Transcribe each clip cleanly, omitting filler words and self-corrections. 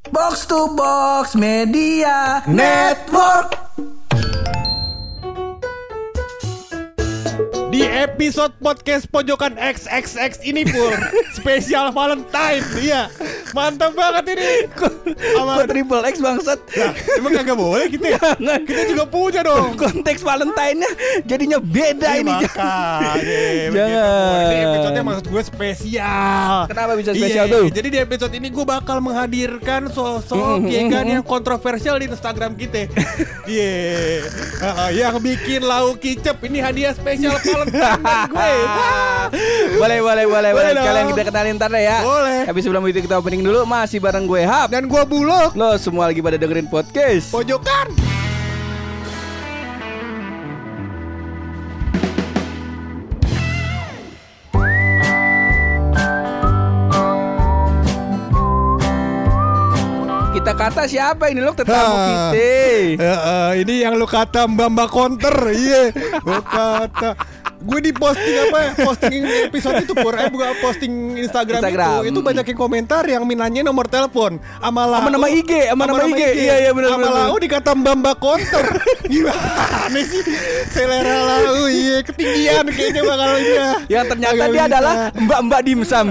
Box to Box Media Network. Di episode podcast Pojokan XXX ini Pur, spesial Valentine. Iya, mantap banget ini. Kok triple X bangsat? Nah, emang kagak boleh kita ya? Kita juga punya dong. Konteks Valentine-nya jadinya beda ini. Makanya Jangan. Ini episode-nya maksud gue spesial. Kenapa bisa spesial Iya, tuh? Jadi di episode ini gue bakal menghadirkan sosok Yegan yang kontroversial di Instagram kita. Iya, yang bikin lauk kicep. Ini hadiah spesial Valentine dari gue. Boleh dong. Kalian kita kenalin ntar deh ya. Boleh. Tapi sebelum itu kita opening dulu. Masih bareng gue Hap. Dan gue Bulog. Lo semua lagi pada dengerin podcast Pojokan. Kita kata siapa ini lo tetamu kita. Ini yang lu kata Mbak Counter. Iya. Lu kata gue di posting apa ya? Posting episode itu Pur. Bukan posting Instagram. Itu banyak yang komentar yang minanya nomor telepon sama nama IG, sama nama IG. Iya benar. Sama Lau dikata Mbak Counter. Gimana sih? Selera Lau iya ketinggian kayaknya bakal dia. Yang ternyata dia adalah Mbak Dimsum.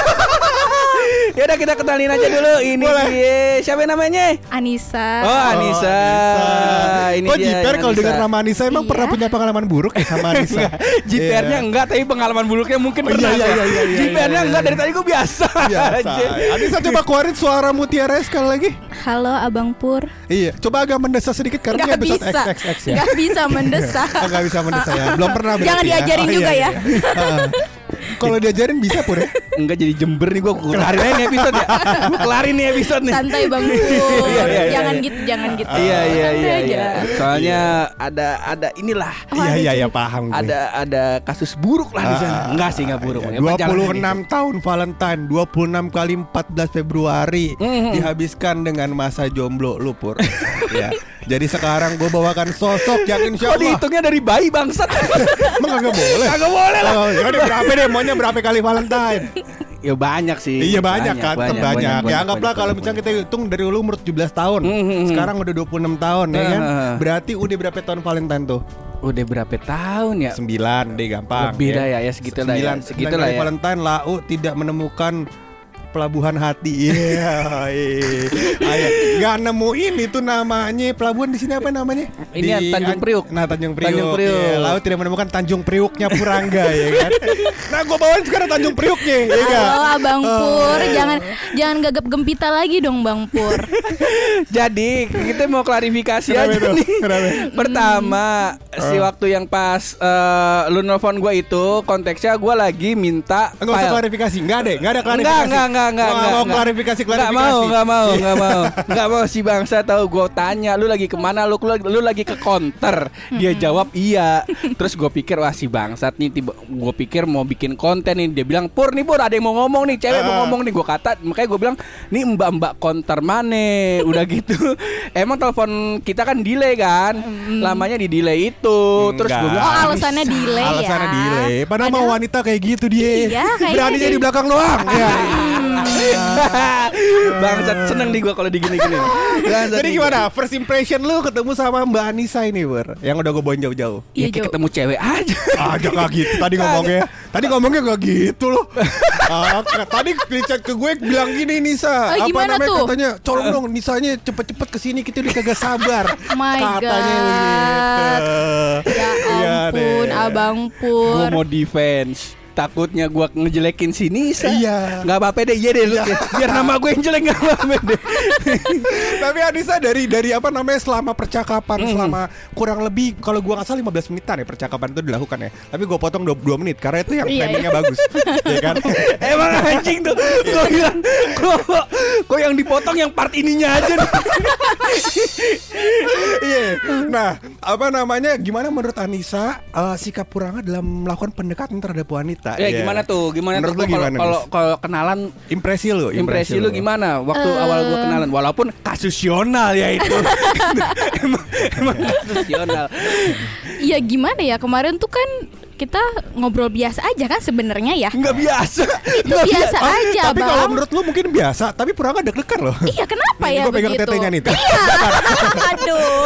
Ya udah kita kenalin aja dulu. Ini dia. Siapa namanya? Anissa. Oh Anissa. Ini kok dia. Jiper kalau Anissa. dengar nama Anissa emang pernah punya pengalaman buruk ya sama Anissa? Jipernya enggak, tapi pengalaman buruknya mungkin pernah. Iya. Jipernya enggak, dari tadi gue biasa. Anissa coba keluarin suara Mutiara sekali lagi. Halo Abang Pur. Iya, coba agak mendesak sedikit karena ini Gak episode bisa. XXX ya. Gak bisa mendesak. Gak bisa mendesak ya. Belum pernah berarti. Jangan diajarin juga ya. Kalau diajarin bisa Pur ya. Enggak jadi Jember nih, gue kelarin aja nih episode ya. Gue kelarin nih episode nih. Santai Bang Pur. Iya. Jangan gitu. Iya. Santai aja. Soalnya ada inilah. Iya paham gue. Ada kasus buruk lah di sana. Enggak sih, enggak buruk. 26 tahun Valentine, 26 kali 14 Februari dihabiskan dengan masa jomblo lu Pur. Ya. Jadi sekarang gue bawakan sosok yang insya Allah. Kok dihitungnya dari bayi bangsat? Emang kagak boleh? Kagak boleh lah. Berapa deh? Maunya berapa kali Valentine? Ya banyak sih. Iya banyak kan, banyak. Ya anggaplah kalau banyak. misalnya kita hitung dari dulu umur 17 tahun, sekarang udah 26 tahun ya kan. Berarti udah berapa tahun Valentine tuh? Udah berapa tahun ya? 9 deh gampang. Lebih dah ya segitu lah ya. 9 kali Valentine Lau tidak menemukan pelabuhan hati. Iya. Ayo, nggak nemuin itu namanya pelabuhan di sini apa namanya? Ini Tanjung Priuk. Nah, Tanjung Priuk. Tanjung Priuk. Ya, Lau tidak menemukan Tanjung Priuknya Purangga ya kan. Nah, gua bawain sekarang Tanjung Priuknya, ya kan? Halo Abang Pur. Jangan gagap gempita lagi dong Bang Pur. Jadi kita mau klarifikasi Kenapa aja itu? nih. Kenapa? Pertama, si waktu yang pas lu nelfon gue itu konteksnya gue lagi minta Enggak usah klarifikasi, enggak ada klarifikasi. Enggak mau klarifikasi. Enggak mau si bangsa tahu. Gue tanya lu lagi kemana, lu lagi ke counter. Dia jawab iya. Terus gue pikir wah si bangsat nih, gue pikir mau bikin konten nih. Dia bilang Pur ada yang mau ngomong nih, cewek mau ngomong nih. Gue kata, makanya gue bilang nih mbak counter mana. Udah gitu emang telepon kita kan delay kan, lamanya di delay itu. Terus gue bilang alasannya delay ya. Alasannya delay. Padahal mau wanita kayak gitu dia. Iya, kayaknya beraninya di belakang doang. Ya. bangsat seneng nih gue kalau digini-gini. Jadi gimana? First impression lu ketemu sama Mbak Anissa ini, Bur? Yang udah gue bawain jauh-jauh. Ya Iya, kayak Jo. ketemu cewek aja. Gak gitu Tadi ngomongnya gak gitu loh. Tadi di chat ke gue bilang gini Nisa. Oh, gimana tuh? Katanya colong dong Nisanya cepet-cepet kesini, kita udah kagak sabar. My Katanya God. begitu. Ya Iya ampun deh. Abang Gue Pur. mau defense. Takutnya gue ngejelekin si Nisa. Iya. Gak apa-apa deh, iya deh lu. Biar nama gue yang jelek gak apa-apa deh. Tapi Anissa dari apa namanya selama percakapan selama kurang lebih kalau gua nggak salah 15 menitan ya percakapan itu dilakukan ya. Tapi gua potong 22 menit karena itu yang Iya, timingnya bagus. Ya kan? Emang anjing tuh. Gue bilang kok yang dipotong yang part ininya aja nih. Iya. Nah, apa namanya? Gimana menurut Anissa sikap Purangga dalam melakukan pendekatan terhadap wanita? Ya Iya. gimana tuh? Gimana Menurut tuh lu gimana, kalau kenalan Impresi lu gimana waktu awal gue kenalan, walaupun kasusional ya itu. emang kasusional. Ya gimana ya, kemarin tuh kan kita ngobrol biasa aja kan sebenarnya ya. Nggak biasa. Itu biasa aja, Tapi Bang. kalau menurut lu mungkin biasa, tapi pura nggak deg-degan loh. Iya, kenapa ya Gue pegang begitu? tetenya nih. Iya. Aduh.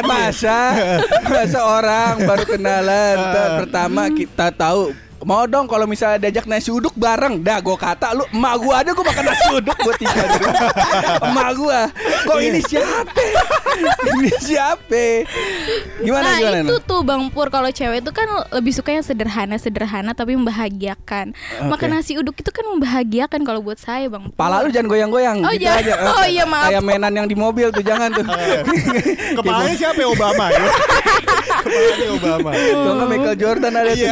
Masa orang baru kenalan pertama kita tahu mau dong kalau misalnya diajak nasi uduk bareng. Dah gue kata lu emak gue aja gue makan nasi uduk gue tinggal di rumah. Emak gue kok ini siapa? Ini siapa? Gimana Nah gimana? itu tuh Bang Pur, kalau cewek itu kan lebih suka yang sederhana tapi membahagiakan. Makan nasi uduk itu kan membahagiakan kalau buat saya Bang Pur. Pala lu jangan goyang-goyang Oh, gitu jangan. aja. Oh, iya, maaf. Kayak mainan yang di mobil tuh jangan tuh. Kepalanya siapa ya? Obama ya? Kepalanya Obama. Kalau nggak Michael Jordan ada tuh.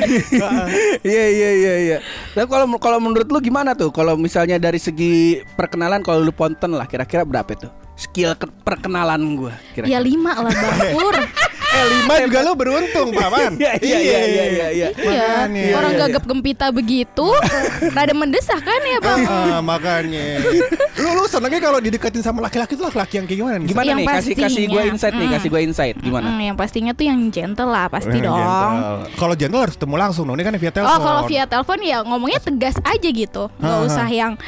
Iya. Tapi kalau menurut lu gimana tuh? Kalau misalnya dari segi perkenalan, kalau lu ponten lah, kira-kira berapa tuh skill perkenalan gue? Ya 5 lah Bang Pur. 5 juga lu beruntung, Paman. Iya. Iya. Makanya. Orang Iya. gagap gempita begitu, rada mendesak kan ya Bang. Makanya. Lu senengnya kalau dideketin sama laki-laki tuh laki-laki yang kayak gimana nih? Gimana Yang nih? Kasih pastinya. gue insight nih, kasih gue insight gimana? Yang pastinya tuh yang gentle lah pasti dong. Gentle. Kalau gentle harus ketemu langsung dong. Ini kan via telepon. Oh kalau via telepon ya ngomongnya tegas aja gitu, nggak usah yang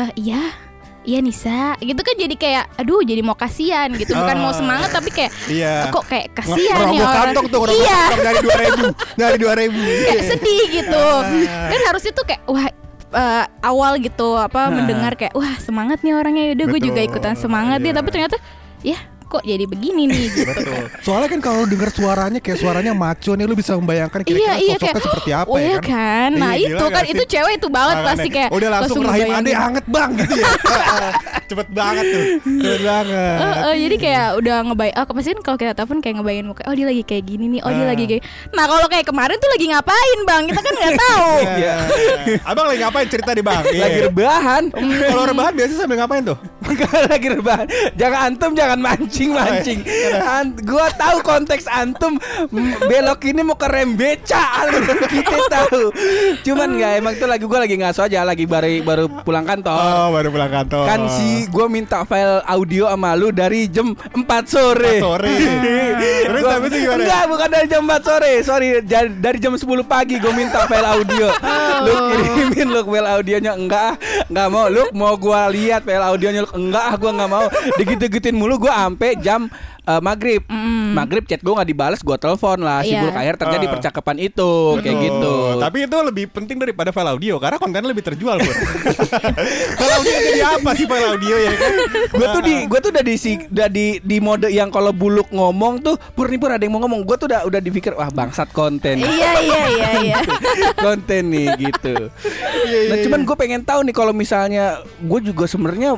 Iya Nisa gitu kan, jadi kayak aduh jadi mau kasihan gitu, bukan mau semangat tapi kayak kok kayak kasihan ya ngerogoh orang. kantong tuh, Iya. dari 2.000 Kayak sedih gitu. Kan harusnya tuh kayak wah awal gitu mendengar kayak wah semangat nih orangnya, udah gue Betul. juga ikutan semangat ya, tapi ternyata ya kok jadi begini nih gitu. Betul. Soalnya kan kalau denger suaranya kayak suaranya maco nih, lu bisa membayangkan kira-kira sosoknya kayak, seperti apa oh, ya iya kan. Nah Iya, itu gila kan gak itu sih? cewek itu banget pasti kayak udah langsung rahim ngebayangin. adek anget bang gitu ya. Cepet banget tuh. Cepet banget. Jadi kayak udah ngebayang. Pasti kan kalau kita telepon kayak ngebayangin muka. Oh dia lagi kayak gini nih. Oh dia lagi kayak. Nah kalau kayak kemarin tuh lagi ngapain Bang? Kita kan nggak tahu. Iya. Abang lagi ngapain cerita di Bang? Lagi rebahan. Kalau rebahan biasanya sambil ngapain tuh? Lagi rebahan. Jangan mancing. Gua tahu konteks antum belok ini mau ke rem beca. Kita tahu. Cuman nggak, emang tuh gue lagi ngaso aja, lagi baru pulang kantor. Oh, baru pulang kantor. Kan gue minta file audio sama lu dari jam 4 sore. Terus habis itu gimana? Enggak, bukan dari jam 4 sore. Sorry, dari jam 10 pagi gue minta file audio. Lu kirimin lu file audionya. Enggak mau. Lu mau gue lihat file audionya. Enggak, gue enggak mau. Digitu-gituin mulu gue sampai jam maghrib. Maghrib chat gue nggak dibalas, gue telepon lah. Iya. Sibuk, akhir terjadi percakapan itu. Kayak gitu. Tapi itu lebih penting daripada file audio karena kontennya lebih terjual, Bro. File audio jadi apa sih file audio ya kan? Gue tuh udah di mode yang kalau buluk ngomong tuh pur ada yang mau ngomong, gue tuh udah dipikir wah bangsat konten. Iya. Konten nih gitu. Nah cuman gue pengen tahu nih, kalau misalnya gue juga sebenarnya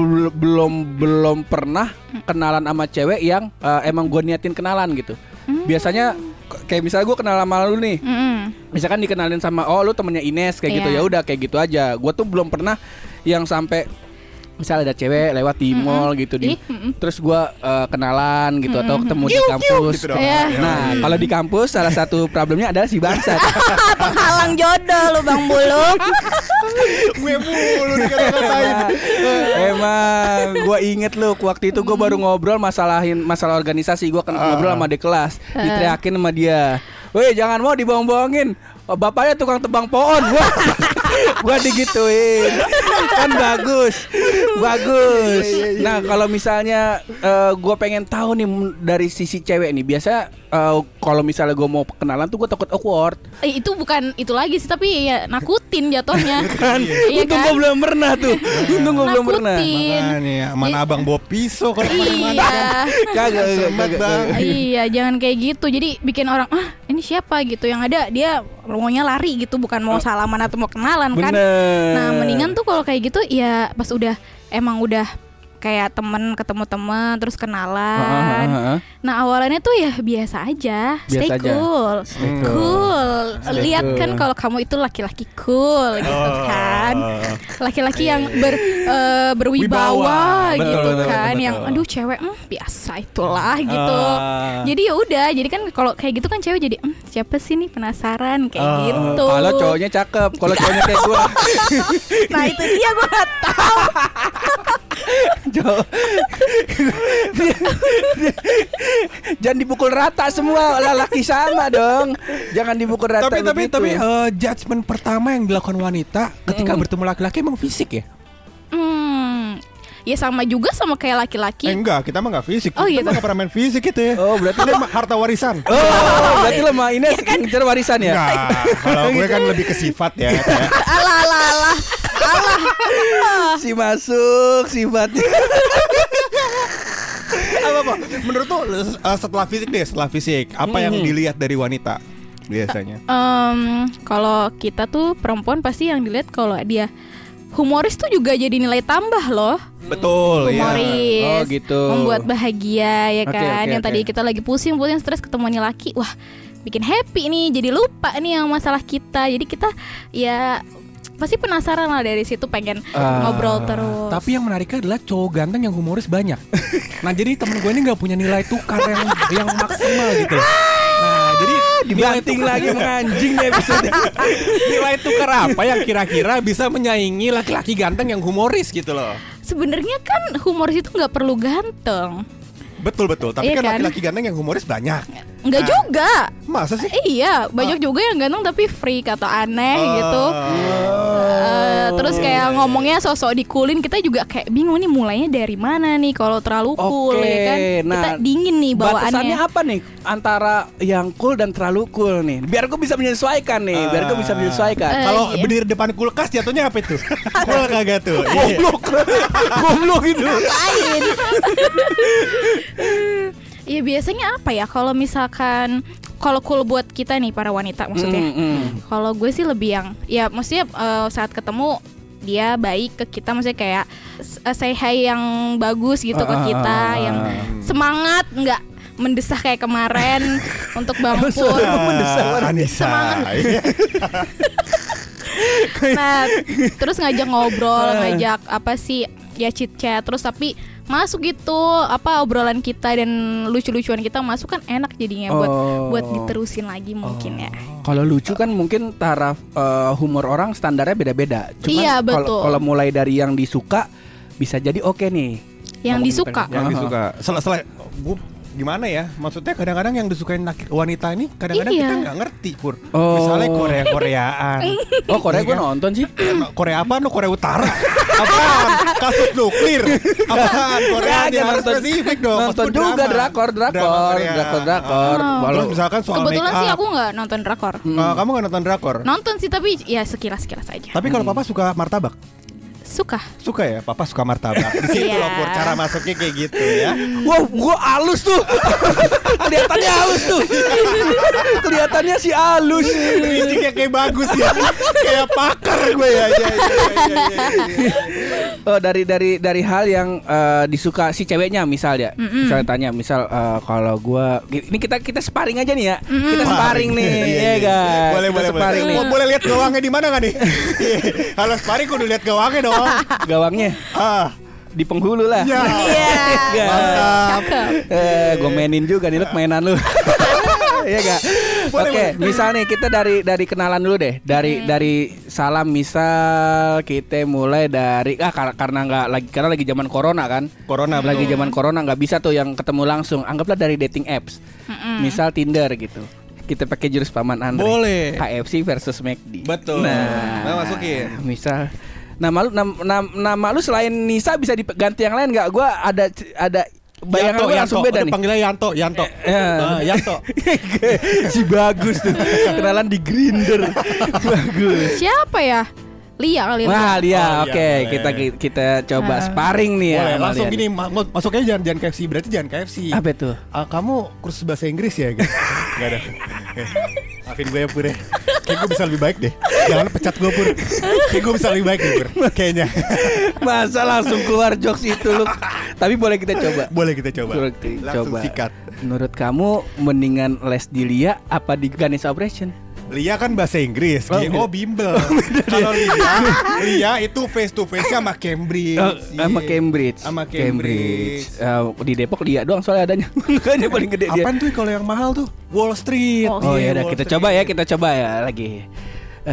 belum pernah kenalan sama cewek yang emang gue niatin kenalan gitu. Biasanya kayak misalnya gue kenal sama lu nih, misalkan dikenalin sama lu temennya Ines kayak gitu, ya udah kayak gitu aja. Gue tuh belum pernah yang sampai misalnya ada cewek lewat di mall gitu terus gue kenalan gitu atau ketemu di kampus gitu dong. Nah kalau di kampus salah satu problemnya adalah si bangsat. Penghalang jodoh lu Bang Buluk. Gue mulu dikata-katain. Emang gue inget lu waktu itu gue baru ngobrol masalah organisasi. Gue ngobrol sama adik kelas, diteriakin sama dia, weh jangan mau dibohong-bohongin, bapaknya tukang tebang pohon. Gua digituin. Kan bagus. Nah kalau misalnya gue pengen tahu nih dari sisi cewek nih, biasa kalau misalnya gue mau kenalan tuh gue takut awkward. Itu bukan itu lagi sih, tapi ya nakutin jatuhnya. Kan untung gue belum pernah tuh. Untung gue belum pernah. Makanya mana abang bawa pisau kalau kemana-mana. Kagak Bang. Iya, jangan kayak gitu. Jadi bikin orang ini siapa gitu. Yang ada dia maunya lari gitu, bukan mau salaman atau mau kenalan kan. Nah, mendingan tuh kalau kayak gitu ya pas udah kayak temen ketemu temen terus kenalan. Nah awalannya tuh ya biasa aja, stay cool. Lihat kan kalau kamu itu laki-laki cool gitu kan, laki-laki yang berwibawa gitu kan, yang aduh cewek biasa itulah gitu. Jadi ya udah, jadi kan kalau kayak gitu kan cewek jadi siapa sih nih, penasaran kayak gitu. Kalau cowoknya cakep, kalau cowoknya kayak gue. Nah itu dia, gue gak tahu. Jangan dipukul rata semua lelaki sama dong. Jangan dipukul rata. Tapi judgement pertama yang dilakukan wanita ketika bertemu laki-laki emang fisik ya? Ya sama juga sama kayak laki-laki. Enggak, kita mah enggak fisik. Oh, kita mah enggak pernah main fisik gitu ya. Oh, berarti lu harta warisan. Berarti lo mah Ines ngejar warisan ya? Enggak. Kalau gue kan lebih ke sifat ya. Alah. Si masuk sifatnya. Apa? Menurut tuh setelah fisik apa yang dilihat dari wanita biasanya? Kalau kita tuh perempuan pasti yang dilihat kalau dia humoris tuh juga jadi nilai tambah loh. Betul, humoris, ya. Oh gitu. Membuat bahagia ya kan. Okay, yang tadi kita lagi pusing stres ketemu nih laki, wah bikin happy nih, jadi lupa nih yang masalah kita. Jadi kita ya pasti penasaran lah dari situ, pengen ngobrol terus. Tapi yang menariknya adalah cowok ganteng yang humoris banyak. Nah jadi temen gue ini nggak punya nilai tukar yang maksimal gitu. Nah jadi dibanting lagi menganjing deh episode. Nilai tukar apa yang kira-kira bisa menyaingi laki-laki ganteng yang humoris gitu loh? Sebenarnya kan humoris itu nggak perlu ganteng. Betul. Tapi iya kan laki-laki ganteng yang humoris banyak. Enggak juga. Masa sih? Iya, banyak juga yang ganteng tapi freak atau aneh gitu. Terus kayak ngomongnya sosok dikulin, kita juga kayak bingung nih mulainya dari mana nih kalau terlalu cool ya kan. Kita dingin nih bawaannya. Batasannya apa nih antara yang cool dan terlalu cool nih? Biar gue bisa menyesuaikan nih, Kalau berdiri depan kulkas jatuhnya apa itu? Cool kagak tuh? Goblok gitu. Ngapain? Ya biasanya apa ya kalau misalkan kalau cool buat kita nih para wanita maksudnya. Kalau gue sih lebih yang ya maksudnya saat ketemu dia baik ke kita, maksudnya kayak say hi yang bagus gitu ke kita, yang semangat, nggak mendesah kayak kemarin untuk Bang Pur. Semangat. Nah, terus ngajak ngobrol, ngajak apa sih ya chit chat, terus tapi masuk gitu apa obrolan kita dan lucu-lucuan kita masuk kan enak jadinya buat diterusin lagi mungkin ya. Kalau lucu kan mungkin taraf humor orang standarnya beda-beda. Cuman iya, betul. Kalau mulai dari yang disuka bisa jadi oke nih. Yang disuka. Selain gimana ya? Maksudnya kadang-kadang yang disukain wanita ini kadang-kadang kita nggak ngerti, Pur. Misalnya Koreaan. Oh, Korea gue nonton sih. Korea apa? Korea Utara. Apaan? Kasus nuklir. Apaan? Korea dia harus spesifik dong. Nonton juga drakor. Kalau misalkan soal kebetulan sih aku nggak nonton drakor. Kamu nggak nonton drakor? Nonton sih tapi ya sekilas aja. Tapi kalau papa suka martabak? Suka ya, papa suka martabak. Di situ loh Pur, cara masuknya kayak gitu ya. Wow, gua halus tuh. Kelihatannya halus tuh. Kelihatannya sih halus. Biji kayak bagus ya. Kayak pakar gue ya. Oh, dari hal yang disuka si ceweknya misalnya. Misalnya tanya, kalau gua ini kita sparring aja nih ya. Kita sparring nih, ya kan. Boleh. Boleh lihat gawangnya di mana enggak nih? Kalau sparring kudu lihat gawangnya dong. Gawangnya di penghulu lah. Iya. Mantap. Gue mainin juga nih, lu mainan lu. Iya gak? Oke, misal nih kita dari kenalan dulu deh. Dari salam, misal kita mulai dari karena lagi zaman corona kan. Lagi zaman corona nggak bisa tuh yang ketemu langsung. Anggaplah dari dating apps. Misal Tinder gitu. Kita pakai jurus paman Andre. Boleh. KFC versus McD. Betul. Nah, masukin. Misal nama lu selain Nisa bisa diganti yang lain nggak? Gue ada bayangan gue langsung beda nih. Panggilnya Yanto. Yanto. Si bagus tuh. Kenalan di Grindr. Bagus. Siapa ya? Lia kali. Wah, Lia. Oke, kita coba sparring nih ya. Boleh, langsung gini, masuknya jangan KFC, berarti jangan KFC. Apa tuh? Kamu kursus bahasa Inggris ya? Enggak ada. Maafin gue ya, Pur. Kayak gue bisa lebih baik deh. Jangan pecat gue, Pur. Kayak gue bisa lebih baik deh, Pur. Kayaknya. Masa langsung keluar jokes itu lu. Tapi boleh kita coba. Langsung sikat. Menurut kamu mendingan les di Lia apa di Ganesha Operation? Lia kan bahasa Inggris, GO bimbel. Kalau Lia itu face to face sama Cambridge. Sama Cambridge. Di Depok Lia doang soalnya adanya. Makanya paling gede dia. Apaan tuh kalau yang mahal tuh? Wall Street. Oh ya udah kita coba ya lagi.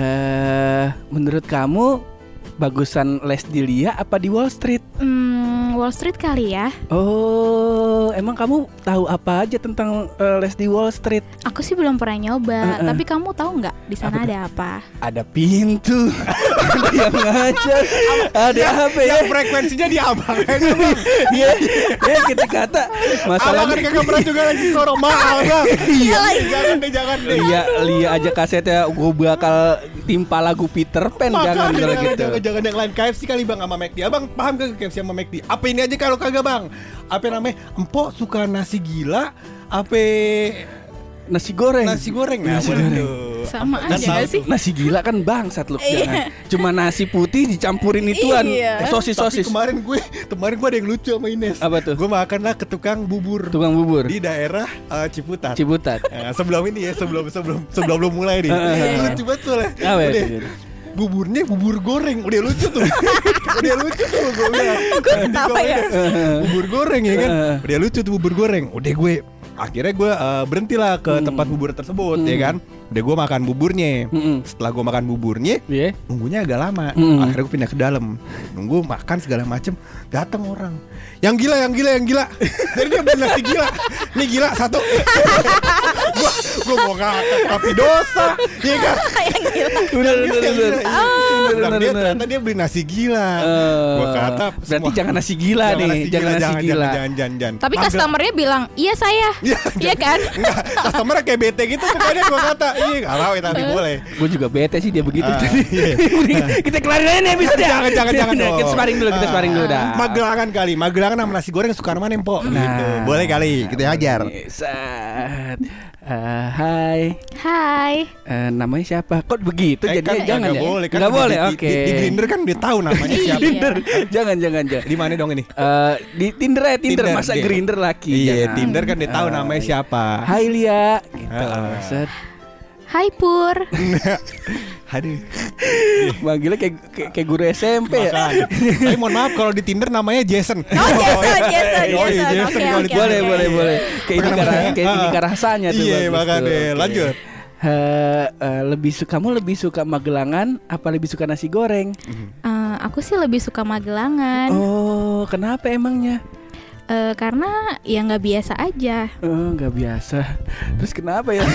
Menurut kamu bagusan les di Lia apa di Wall Street? Wall Street kali ya. Oh, emang kamu tahu apa aja tentang les di Wall Street? Aku sih belum pernah nyoba, tapi kamu tahu nggak di sana ada apa? Ada pintu, ada yang ngajar, ada apa ya? Yang frekuensinya di abang. Iya, kita kata masalah Abang kan kagak pernah juga lagi sorong mahal bang. Iya, Jangan deh. Lia aja kasetnya gue bakal timpa lagu Peter Pan. Jangan kalau gitu. Jangan yang lain. KFC kali bang sama McD. Abang paham gak KFC sama McD? Apa ini aja kalau kagak bang? Apa namanya? Empok suka nasi gila? Apa nasi goreng? Nasi goreng. Nah, Sama aja gak sih? Nasi gila kan bangsat lu. Jangan. Cuma nasi putih dicampurin ituan. Sosis. Tapi kemarin gue ada yang lucu sama Ines. Apa tuh? Gue makan lah ke tukang bubur di daerah Ciputat. Nah, sebelum ini ya, sebelum belum mulai nih. Lucu banget soalnya. Buburnya bubur goreng. Udah lucu tuh gue bilang. Kenapa ya? Bubur goreng ya kan. Udah lucu tuh bubur goreng. Akhirnya gue berhenti lah ke tempat bubur tersebut ya kan. Udah gue makan buburnya. Setelah gue makan buburnya, nunggunya agak lama. Akhirnya gue pindah ke dalam. Nunggu makan segala macem. Datang orang. Yang gila. Jadi dia beli nasi gila. Nih gila satu. Gue mau ngakak tapi dosa. Iya kan? Yang gila. Bener. Ternyata dia beli nasi gila. Gue kata berarti jangan nasi gila nih. Jangan nasi gila. Jangan. Tapi customernya bilang, iya saya. Iya kan? Enggak, customernya kayak bete gitu. Pokoknya gue kata, iya gak mau tapi boleh. Gue juga bete sih dia begitu. Kita kelarin aja nih episode. Jangan dong. Kita sparring dulu dah. Magelangan sama nasi goreng suka mana Empok gitu. Boleh kali kita ajar. Hai. Namanya siapa? Kok begitu jadi kan jangan ya? Boleh, kan Nggak boleh. Oke. Di Grindr kan udah tahu namanya siapa. Tinder. Jangan. Di mana dong ini? Di Tinder ya, Tinder masa iya. Grindr laki. Iya, Tinder kan udah tahu namanya siapa. Hai Lia. Gitu. Hai Pur. Aduh. Manggilnya kayak guru SMP ya. Tapi mohon maaf kalau di Tinder namanya Jason. Jason. Boleh. Kayak ini rasanya tuh. Iya, makanya. Lanjut. Kamu lebih suka Magelangan apa lebih suka nasi goreng? Aku sih lebih suka Magelangan. Oh, kenapa emangnya? Karena ya nggak biasa aja. Nggak biasa. Terus kenapa ya?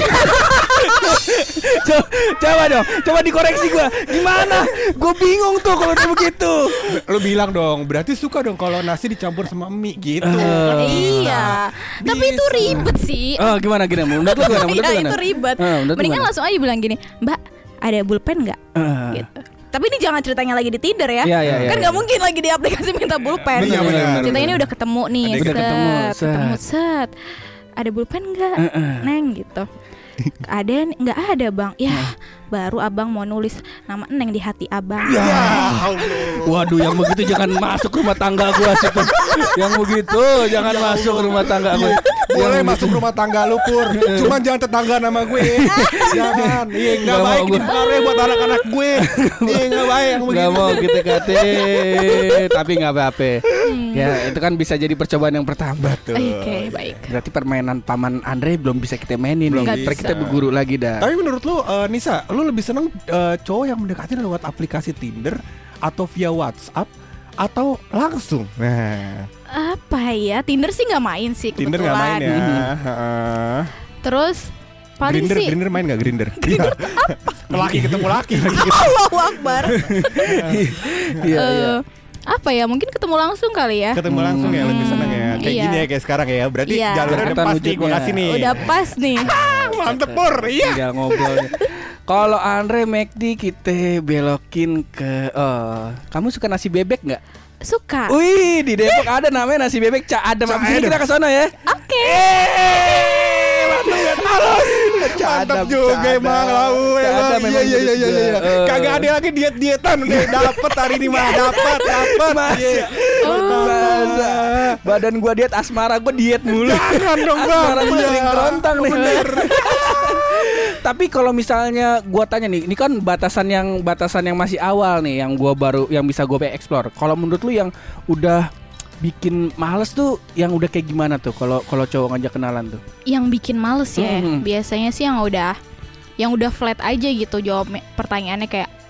Coba dikoreksi gue. Gimana? Gue bingung tuh kalau udah begitu. Lu bilang dong, berarti suka dong kalau nasi dicampur sama mie gitu. Iya. Tapi itu ribet sih. Gimana? Menurut lu gimana? Iya, itu ribet. Mendingan langsung aja bilang gini, Mbak, ada pulpen nggak? Gitu. Tapi ini jangan ceritanya lagi di Tinder ya. Kan nggak mungkin lagi di aplikasi minta pulpen. Ceritanya ini udah ketemu nih. Ketemu set. Ada pulpen nggak, Neng gitu. Ada nggak ada bang? Ya baru abang mau nulis nama Neng di hati abang. Waduh, yang begitu jangan masuk rumah tangga gua situ. Yang begitu jangan masuk rumah tangga gua. Boleh masuk rumah tangga lu Pur. Cuman jangan tetangga nama gue. Jangan. Iya enggak baik dipengaruhi buat anak-anak gue. Iya enggak baik yang begitu. Enggak mau kita kate. Tapi enggak apa-apa. Ya, itu kan bisa jadi percobaan yang pertama. Oke, baik. Berarti permainan Paman Andre belum bisa kita mainin nih. Kita berguru lagi dah. Tapi menurut lu Nisa, lu lebih seneng cowok yang mendekati lewat aplikasi Tinder atau via WhatsApp atau langsung? Nah, apa ya? Tinder sih nggak main sih kebetulan. Tinder nggak main ya. Terus paling sih Grindr main nggak Grindr? Laki ketemu laki. Allahu Akbar. Iya. Apa ya? Mungkin ketemu langsung kali ya. Ketemu langsung ya lebih seneng ya. Kayak gini ya kayak sekarang ya. Berarti jalurnya udah pas nih gue kasih nih. Udah pas nih. Mantep Pur. Iya. Tinggal ngobrol. Kalau Andre McD kita belokin ke kamu suka nasi bebek nggak? Suka. Wih, di Depok ada namanya nasi bebek Cak Adem. Abis ini kita ke sana ya. Oke. Halus. Mantap juga emang lau. Iya. Kagak ada lagi diet-dietan. Dapat hari ini mah dapat. Masa badan gua diet, asmara gua diet mulu. Jangan dong Bang. Asmara gua sering kerontang nih. Tapi kalau misalnya gua tanya nih, ini kan batasan yang masih awal nih, yang bisa gua explore. Kalau menurut lu yang udah bikin males tuh, yang udah kayak gimana tuh? Kalau cowok ngajak kenalan tuh? Yang bikin males ya, biasanya sih yang udah flat aja gitu jawab pertanyaannya kayak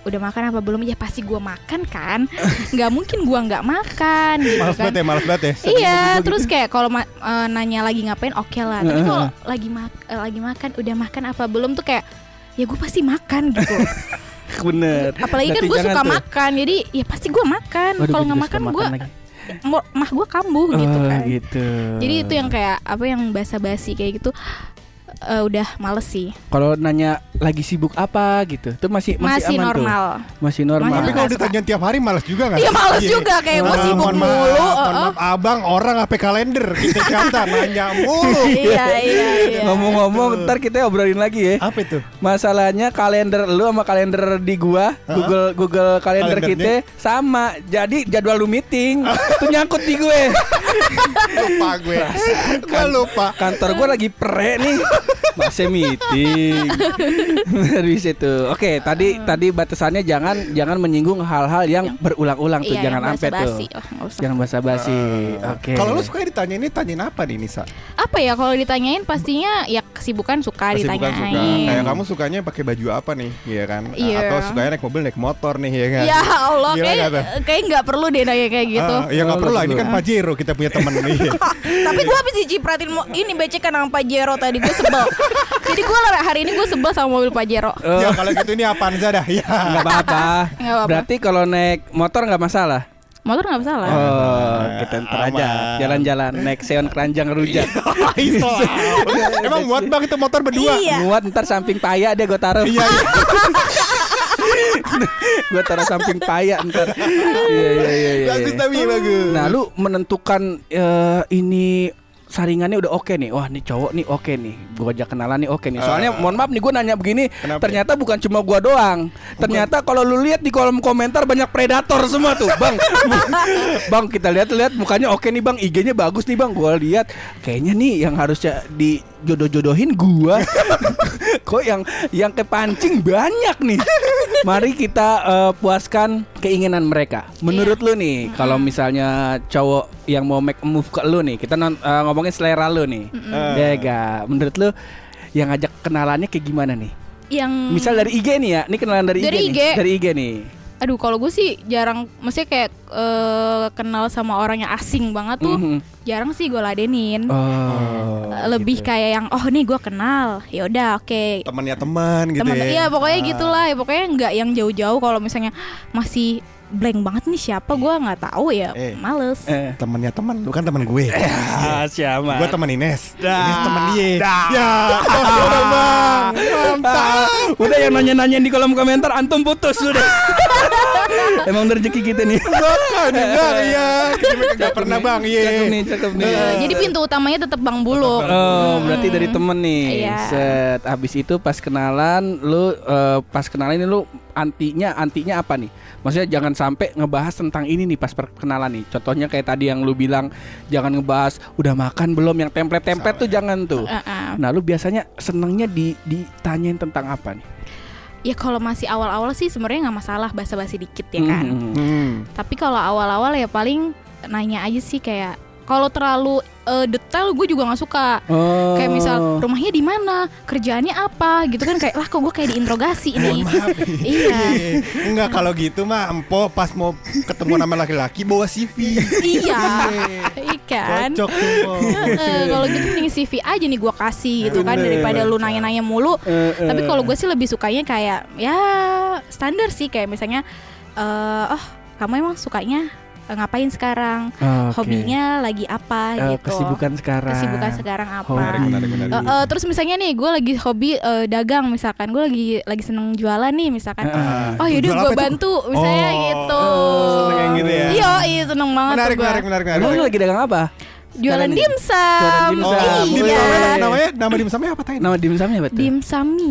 udah makan apa belum? Ya pasti gue makan kan. Nggak mungkin gue nggak makan gitu Males kan. banget ya. Iya, terus kayak kalau nanya lagi ngapain, oke lah. Tapi kalau lagi makan, udah makan apa belum tuh kayak ya gue pasti makan gitu. Bener. Apalagi kan gue suka makan, jadi ya pasti gue makan. Kalau nggak makan gue mah gue kambuh gitu kan. Gitu. Jadi itu yang kayak apa yang basa-basi kayak gitu. Udah males sih. Kalau nanya lagi sibuk apa gitu, tuh masih aman normal. Tuh. Masih normal. Tapi kalau ditanya tiap hari malas juga nggak? Iya malas juga kayak gue sibuk mulu. Maaf abang, orang HP kalender kita kata nanya mulu. Iya. Ngomong-ngomong, ntar kita obrolin lagi ya. Apa itu? Masalahnya kalender lu sama kalender di gua, Google kalender kita sama. Jadi jadwal lu meeting itu nyangkut di gue. Lupa gue. Gue lupa. Kantor gua lagi pre nih. Masih meeting. Dari situ. Oke, tadi batasannya jangan menyinggung hal-hal yang berulang-ulang tuh, jangan sampai tuh. Jangan basa-basi. Oke. Kalau lu suka ditanyain apa nih Nisa? Apa ya kalau ditanyain pastinya ya kesibukan suka ditanyain. Kayak kamu sukanya pakai baju apa nih, iya kan? Iya. Atau sukanya naik mobil, naik motor nih, ya kan? Ya Allah, kayak nggak perlu deh nanya kayak gitu. Ya nggak perlu lah, ini kan Pajero kita punya temen nih. Tapi gue habis dicipratin ini becekan sama Pajero tadi, gue sebel. Jadi gue hari ini gue sebel sama mobil Pajero. Ya kalau gitu ini Avanza dah. Ya. Nggak apa-apa. Berarti kalau naik motor nggak masalah. Motor nggak masalah. Oh, kita ntar aja jalan-jalan naik Seon Keranjang Rujak. Emang muat bang itu motor berdua? Iya. Muat, ntar samping paya deh gue taruh. Iya. Gue taruh samping paya ntar. Iya. Bagus tapi bagus. Nah, lu menentukan ini saringannya udah oke nih. Wah, nih cowok nih oke nih. Gua ajak kenalan nih oke nih. Soalnya mohon maaf nih, gue nanya begini. Kenapa? Ternyata bukan cuma gua doang. Ternyata kalau lu lihat di kolom komentar banyak predator semua tuh, Bang. Bang, kita lihat mukanya oke nih, Bang. IG-nya bagus nih, Bang. Gua lihat kayaknya nih yang harusnya dijodoh-jodohin gua. Kok yang kepancing banyak nih. Mari kita puaskan keinginan mereka. Menurut lu nih, kalau misalnya cowok yang mau make a move ke lu nih, kita ngomongin selera lu nih. Ya gak? Menurut lu yang ngajak kenalannya kayak gimana nih? Yang misal dari IG nih ya, ini kenalan dari IG nih. Dari IG nih. Aduh, kalau gue sih jarang, maksudnya kayak kenal sama orang yang asing banget tuh, jarang sih gue ladenin. Lebih gitu. Kayak yang nih gue kenal, ya udah oke. Temannya teman gitu. Iya pokoknya gitulah, ya pokoknya nggak yang jauh-jauh. Kalau misalnya masih blank banget nih siapa, gue nggak tahu ya, males. Temannya teman, lu kan teman gue. Siapa? Gue teman Ines. Ines teman dia. Ya, udah bang. Mantap. Udah yang nanya-nanyain di kolom komentar, antum putus sudah. Emang rezeki kita nih. Enggak, iya. Enggak pernah bang, iya. Cakep nih. Jadi pintu utamanya tetap Bang Buluk. Oh, berarti dari temen nih. Iya. Set. Habis itu pas kenalan lu ini lu antinya apa nih? Maksudnya jangan sampai ngebahas tentang ini nih pas perkenalan nih. Contohnya kayak tadi yang lu bilang jangan ngebahas udah makan belum, yang template-template tuh jangan tuh. Nah, lu biasanya senengnya ditanyain tentang apa nih? Ya kalau masih awal-awal sih sebenarnya nggak masalah, basa-basi dikit ya kan. Tapi kalau awal-awal ya paling nanya aja sih, kayak kalau terlalu detail gue juga nggak suka. Kayak misal rumahnya di mana, kerjaannya apa gitu kan, kayak lah kok gue kayak diinterogasi nih. Iya. Enggak, kalau gitu mah empo pas mau ketemu nama laki-laki bawa CV. Iya. Ikan. Cocok tuh. Kalau gitu mending CV aja nih gue kasih gitu kan, daripada lu nanya-nanya mulu. Tapi kalau gue sih lebih sukanya kayak ya standar sih, kayak misalnya kamu emang sukanya ngapain sekarang, hobinya lagi apa gitu, kesibukan sekarang apa. Benar. Terus misalnya nih gue lagi hobi dagang, misalkan gue lagi seneng jualan nih misalkan, yaudah gue bantu misalnya gitu. Seneng gitu ya. Iya seneng banget. Menarik. Lu lagi dagang apa? Jualan dimsum. Namanya nama dimsumnya apa tadi? Nama dimsumnya apa tuh? Dimsami.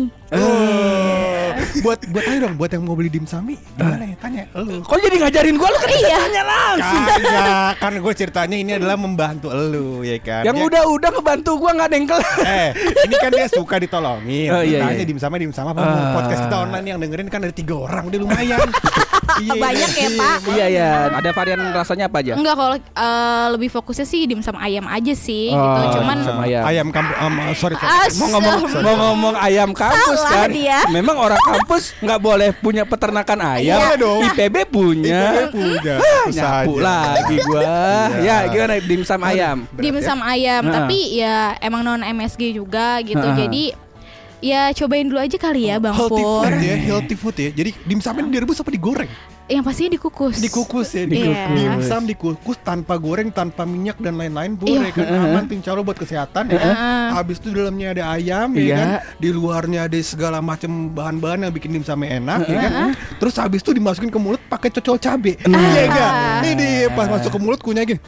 Buat ayo dong, buat yang mau beli dimsami gimana ya, tanya lu. Kok jadi ngajarin gua, lu kan tanya langsung. Kan gue ceritanya ini adalah membantu lu ya kan. Yang udah ngebantu gua enggak dengkel. Ini kan dia suka ditolongin. Iya. Tanya dimsum apa podcast kita online yang dengerin kan ada 3 orang, udah lumayan. Banyak ya Pak. Iya ya. Ada varian rasanya apa aja? Enggak, kalau lebih fokusnya sih dimsum ayam aja sih gitu. Cuman dimsum ayam kampus sorry. Mau ngomong ayam kampus Salah kan. dia. Memang orang kampus nggak boleh punya peternakan ayam. Boleh dong. IPB punya. Nyapu Nyapu lagi gua. Ya gimana dimsum ayam? dimsum ayam, tapi ya emang non MSG juga gitu. Jadi ya cobain dulu aja kali ya Bang Healthy Pur. food ya, healthy food ya. Jadi dimsumnya direbus apa digoreng? Yang pastinya dikukus. Dikukus ya, Iya. dimsum dikukus tanpa goreng, tanpa minyak dan lain-lain, boleh kan aman, pincaro buat kesehatan ya kan. Habis itu di dalamnya ada ayam ya kan, di luarnya ada segala macam bahan-bahan yang bikin dimsumnya enak ya kan. Terus habis itu dimasukin ke mulut pakai cocol cabe. Iya enggak? Ini pas masuk ke mulut kunyah gini.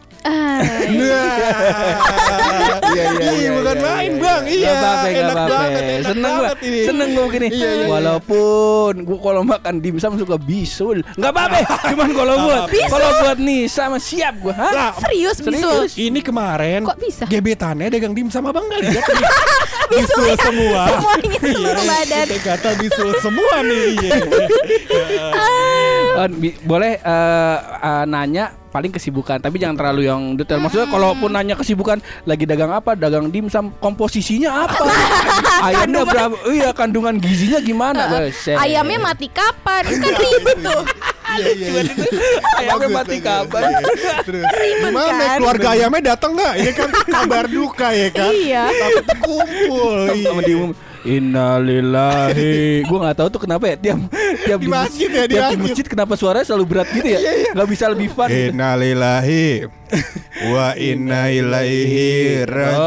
Iya, bukan main Bang. Iya, enak banget. Seneng gue begini. Walaupun gue kalau makan dimsum suka bisul, nggak apa-apa. Cuman kalau buat Nisa mah siap gue. Serius bisul. Ini kemarin Kok bisa? gebetannya dagang dimsum abang nggak lihat nih. Bisul ya? Semua. Semuanya seluruh badan. Kita kata bisul semua nih. Boleh nanya paling kesibukan, tapi jangan terlalu yang detail. Maksudnya kalaupun nanya kesibukan, lagi dagang apa, dagang dimsum, komposisinya apa, ayamnya berapa, iya kandungan gizinya gimana, ayamnya mati kapan, kan ribet tuh. Ayamnya mati kapan. Terus gimana keluarga ayamnya datang nggak? Ini kan kabar duka ya kan? Iya. Tapi kumpul. Sama diumum, innalillahi. Gue nggak tahu tuh kenapa ya tiap Di masjid ya, di masjid kenapa suaranya selalu berat gitu ya? Nggak bisa lebih fun. Innalillahi wa inna ilaihi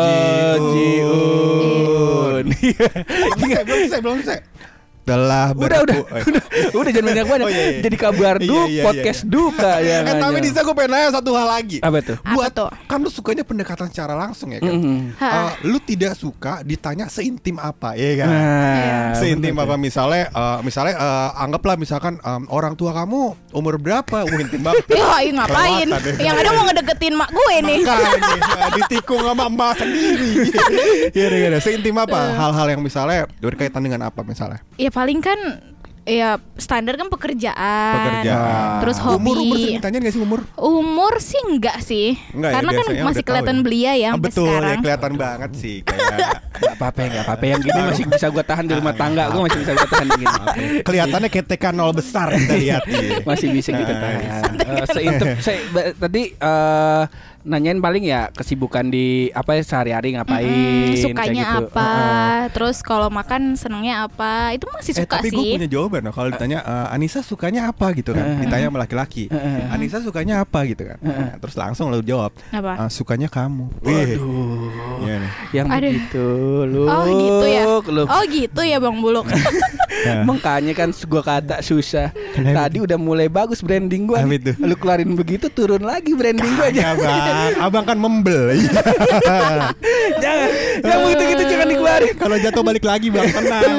rajiun. Belum selesai. Telah udah jangan banyak. Jadi kabar podcast duka ya. Tapi Nisa gue pengen nanya satu hal lagi. Apa tuh? Apa tuh? Kan lu sukanya pendekatan secara langsung ya kan. Lu tidak suka ditanya seintim apa ya kan. Seintim apa misalnya anggaplah misalkan orang tua kamu umur berapa? Intim banget. Ya ngapain? Yang ada mau ngedeketin mak gue nih. Makanya ditikung sama emak sendiri. Iya, seintim apa? Hal-hal yang misalnya berkaitan dengan apa misalnya? Ya paling kan ya standar kan pekerjaan. Terus hobi. Umur ditanya nggak sih umur? Umur sih enggak sih. Karena kan masih kelihatan belia ya sampai betul, sekarang. Ya kelihatan banget sih kayak Gak apa-apa yang gini masih bisa gue tahan di rumah tangga. Gue masih bisa gue tahan gini. Kelihatannya ketekan nol besar kita lihat. Masih bisa kita tahan. Tadi nanyain paling ya kesibukan di apa ya sehari-hari ngapain, sukanya gitu. apa, terus kalau makan senengnya apa, itu masih suka tapi sih. Tapi gue punya jawaban loh kalau ditanya Anissa sukanya apa gitu kan, ditanya sama laki-laki, Anissa sukanya apa gitu kan, terus langsung lo jawab, sukanya kamu. Waduh, yang Aduh. begitu lu. Oh gitu ya. Oh gitu ya Bang Buluk. Makanya kan gue kata susah. Tadi udah mulai bagus branding gue. Lu keluarin begitu turun lagi branding gue aja. Abang kan membel. Jangan. Yang begitu-gitu jangan dikeluarin. Kalau jatuh balik lagi Bang, tenang.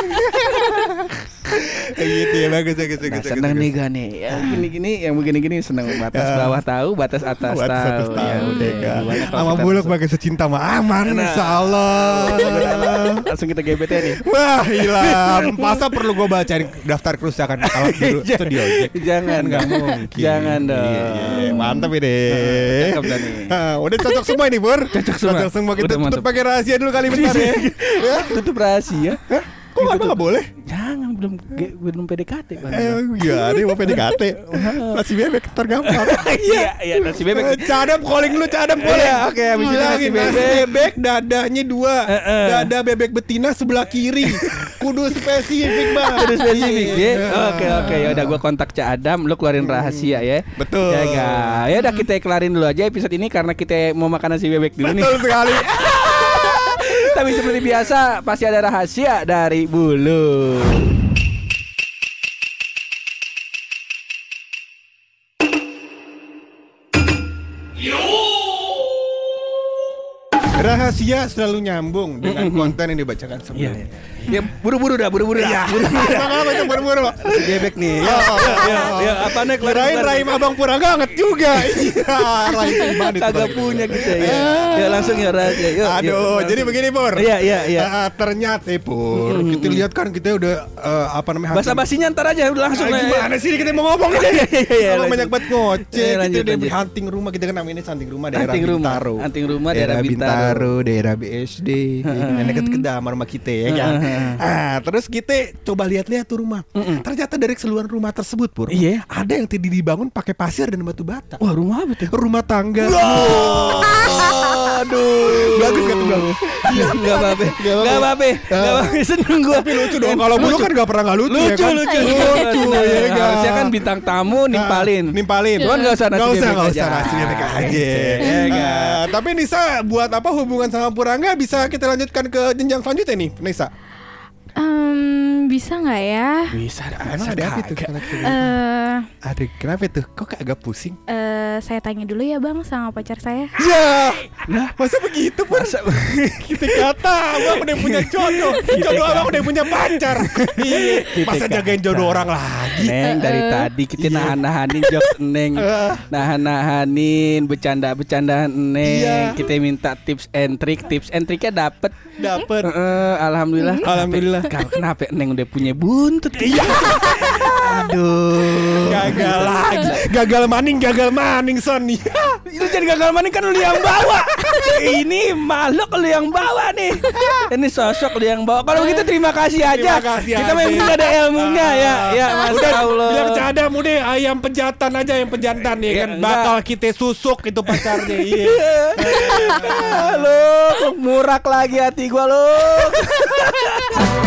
Gitu ya, bagus. Seneng nih gak nih ya, gini-gini yang begini-gini seneng. Batas bawah tahu, batas atas tahu. Ya udah kan. Sama Buluk pakai secinta mah aman insyaallah. Langsung kita GBT nih. Wah hilang. Masa perlu gue bacain daftar kerusakan alat dulu studio Jack? Jangan, nggak mungkin. Jangan dong. Iya, mantap ini. Cakep dah nih. Udah cocok semua ini Bur. Cocok semua. Kita tutup pakai rahasia dulu kali bentar ya. Tutup rahasia. Kok nggak boleh? Jangan, belum PDKT kan. Iya, dia mau PDKT. Nasi bebek tergampang. Iya, nasi bebek. Cadam calling lu, cadam calling. Iya, oke, habis itu nasi bebek dadanya 2. Dada bebek betina sebelah kiri. Kudu spesifik, Bang. Kudu spesifik ya. Oke, ya udah gua kontak Cak Adam, lu keluarin rahasia ya. Betul. Ya enggak. Ya udah kita kelarin dulu aja episode ini karena kita mau makan nasi bebek dulu nih. Betul sekali. Tapi seperti biasa pasti ada rahasia dari Bulu. Rahasia selalu nyambung dengan konten yang dibacakan sebelumnya. Ya buru-buru dah. Buru-buru. Buru-buru. Gebek nih. Ya apa nih? Kirain Rahim Abang Purangga anget juga. Iya, Rahim Iman itu. Kagak punya kita ya. Ya langsung ya rahasia. Yuk. Aduh, jadi begini Pur. Iya. Ternyata Pur, kita lihat kan kita udah basa-basinya ntar aja udah langsung. Gimana sih kita mau ngomong ini? Kalau banyak banget ngoceh. Kita udah hunting rumah, kita kan namanya hunting rumah daerah Bintaro. Hunting rumah daerah Bintaro, daerah BSD. Dekat kedamar rumah kita ya kan. Terus kita coba lihat-lihat tuh rumah. Ternyata dari keseluruhan rumah tersebut Pur, ada yang tadi dibangun pakai pasir dan batu bata. Wah, rumah apa tuh? Rumah tangga. Aduh, bagus gak tuh Bang? Gak apa-apa. Seneng gue. Tapi lucu dong. Kalau dulu kan gak pernah gak lucu ya kan? Lucu ya kan? Harusnya kan bintang tamu nimpalin. Cuman gak usah nasinya aja. Tapi Nisa, buat apa hubungan sama Purangga bisa kita lanjutkan ke jenjang selanjutnya nih Nisa? Bisa nggak ya? Bisa. Emang ada apa tuh? Ada kenapa tuh? Kok agak pusing? Saya tanya dulu ya Bang sama pacar saya. Ya, masa begitu Pur? Kita kata Abang udah punya jodoh Abang udah punya pacar. Masa jagain jodoh orang lagi? Neng, dari tadi kita nahan-nahanin jokes Neng, nahan-nahanin bercanda-bercandaan Neng. Kita minta tips and triknya dapet. Alhamdulillah. Kenapa Neng udah punya buntut? Aduh, gagal maning Son. Itu jadi gagal maning kan lu yang bawa. Ini makhluk lu yang bawa nih. Ini sosok lu yang bawa. Kalau begitu terima kasih aja. Kita memang gak ada ilmunya ya. Masya Allah. Bilang cadam udah ayam pejantan aja, yang pejantan ya kan. Bakal kita susuk itu pacarnya. Lu murak lagi hati gua lu.